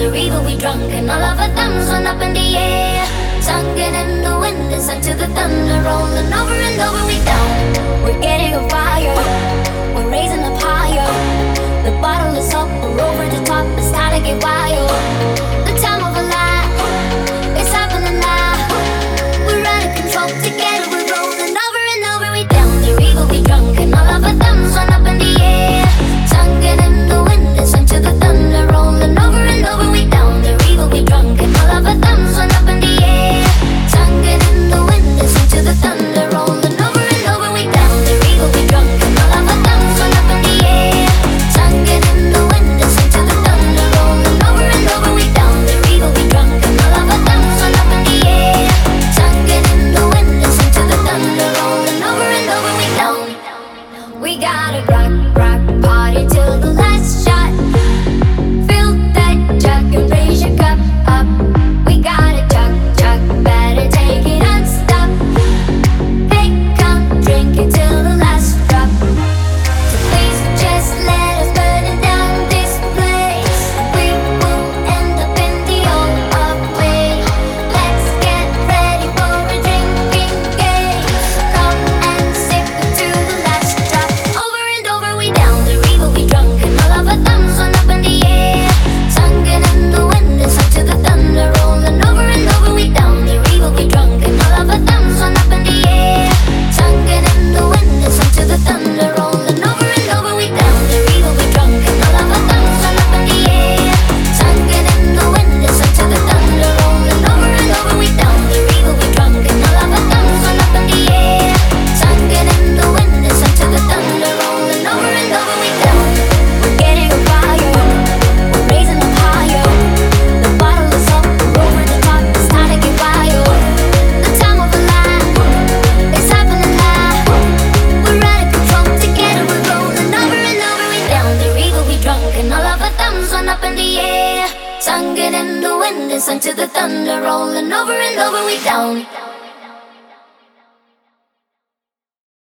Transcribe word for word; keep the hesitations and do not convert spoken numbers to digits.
the river, we drunk, and all of our thumbs went up in the air. Sunken in the wind and sunk to the thunder, rolling over and over, we down. We're getting on fire, we're raising up higher. The bottle is up, we're over the top, it's time to get wild. The time of a life, it's happening now. We're out of control, together we're rolling over and over, we down. The river, we drunk, and all of our thumbs went up in the air. Sunken in the wind and sunk to the thunder, rolling over and over, we down. The river, we drunk, and all of our thumbs went up in the air. Sunken in the wind and sunk to the thunder, rolling over and over, we down. The river, we drunk, and all of our thumbs went up in the air. Sunken in the wind and sunk to the thunder, rolling over and over, we down. The river, we drunk, and all of our thumbs went up in the air. Sunken in the wind and sunk to the thunder, rolling over and over, we down. We gotta rock, rock, party till the last shot. Fill that jug and raise your cup up. We gotta chug, chug, better take it unstop. Hey, come drink it till the last drop. So please just let us burn it down this place. We will end up in the old way. Let's get ready for a drinking game. Come and sip it to the last drop. Over and over, we down. The river, we drunk, and all of our thumbs went up in the air. Sunken in the wind and sunk to the thunder, rolling over and over, we down. The river, we drunk, and all of our thumbs went up in the air. Sunken in the wind and sunk to the thunder, rolling over and over, we down. The river, we drunk, and all of our thumbs went up in the air. Sunken in the wind and sunk to the thunder, rolling over and over, we down. The river, we drunk, and all of our thumbs went up in the air. Sunken in the wind and sunk to the thunder, rolling over and over, we down. We're getting on fire, we're raising up higher. The bottle is up, we're over the top, it's time to get wild. The time of a life, it's happening now. We're out of control, together we're rolling over and over, we down. The river, we drunk, and all of our thumbs went up in the air. Sunken in the wind and sunk to the thunder, rolling over and over, we down.